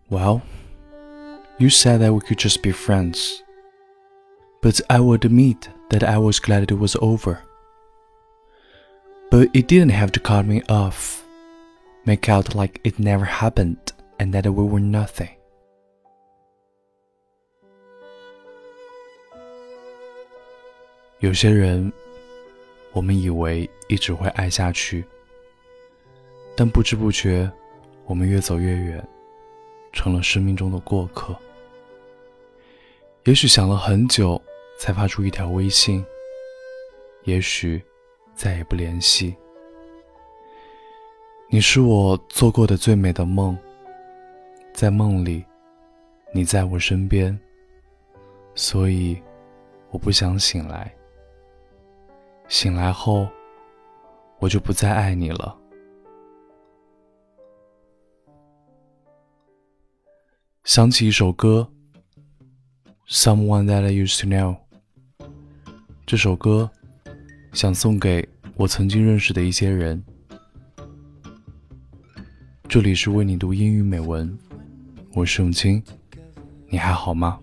Well, you said that we could just be friends. But I will admit that I was glad it was over. But it didn't have to cut me off, make out like it never happened and that we were nothing. 有些人，我们以为一直会爱下去，但不知不觉，我们越走越远，成了生命中的过客。也许想了很久，才发出一条微信，也许再也不联系。你是我做过的最美的梦，在梦里，你在我身边，所以我不想醒来。醒来后，我就不再爱你了。想起一首歌 Someone that I used to know， 这首歌想送给我曾经认识的一些人。这里是为你读英语美文，我是永清，你还好吗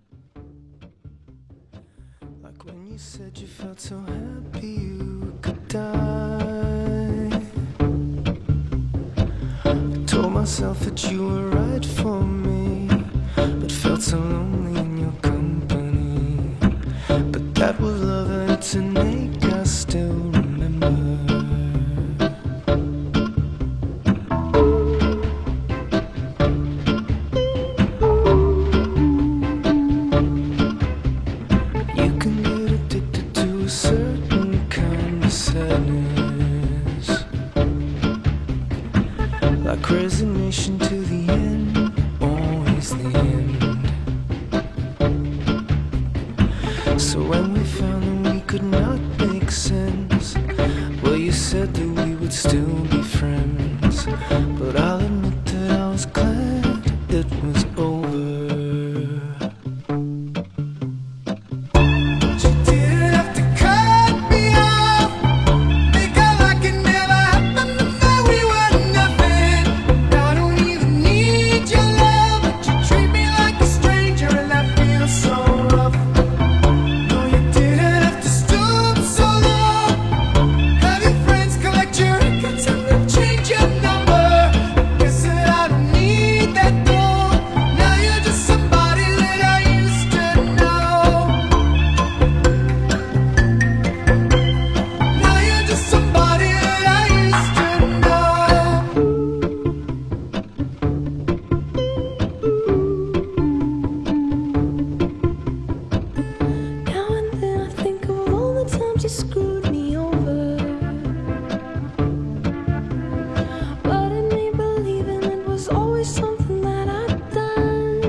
？Told myself that you were right for me, but felt so lonely in your company. But that was love and it's innate, I still remember. You can get addicted to a certain kind of sadness, like resignation to the end, always the end. So when we found that we could not make sense, well, you said that we would still be friends. But I'll admit that I was glad it was over. Screwed me over, but in me believing it was always something that I'd done.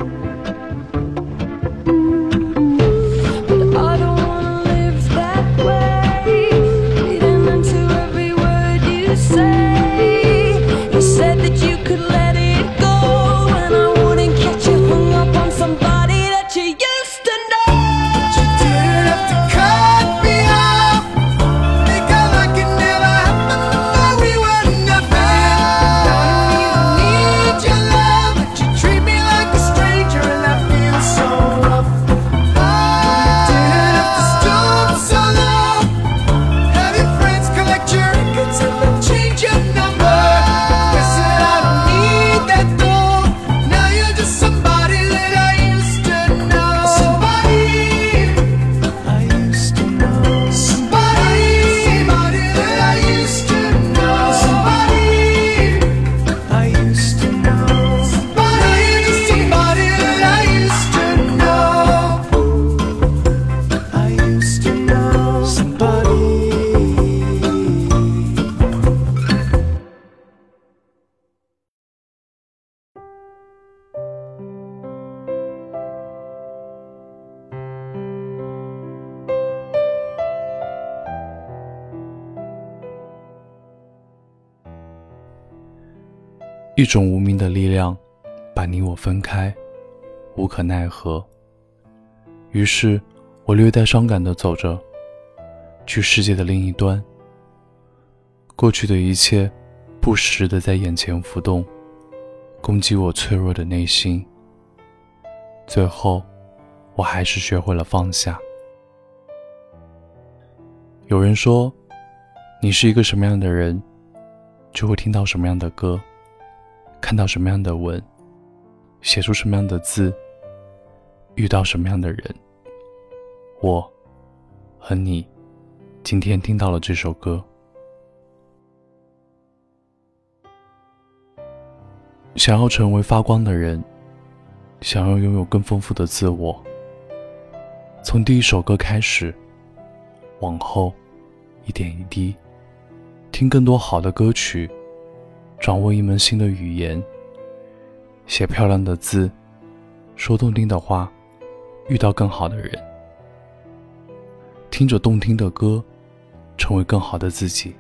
But I don't wanna live that way, reading into every word you say. You said that you could let it go, and I wouldn't catch you hung up on somebody that you used to know. But you didn't have to cut me off, make out like it never happened, that we were nothing. I don't even need your love, but you treat me like a stranger, and that feels so rough. You didn't have to stoop so low, have your friends collect your records and then change your number. Guess that I don't need that though, now you're just somebody that I used to know. Somebody I used to know. Somebody that I used to know. Somebody I used to know. Somebody that I used to know. I used to know somebody. 一种无名的力量把你我分开，无可奈何。于是我略带伤感地走着，去世界的另一端。过去的一切不时地在眼前浮动， 攻击我脆弱的内心。最后，我还是学会了放下。有人说，你是一个什么样的人，就会听到什么样的歌，看到什么样的文，写出什么样的字，遇到什么样的人。我和你今天听到了这首歌。想要成为发光的人，想要拥有更丰富的自我，从第一首歌开始，往后一点一滴，听更多好的歌曲，掌握一门新的语言，写漂亮的字，说动听的话，遇到更好的人，听着动听的歌，成为更好的自己。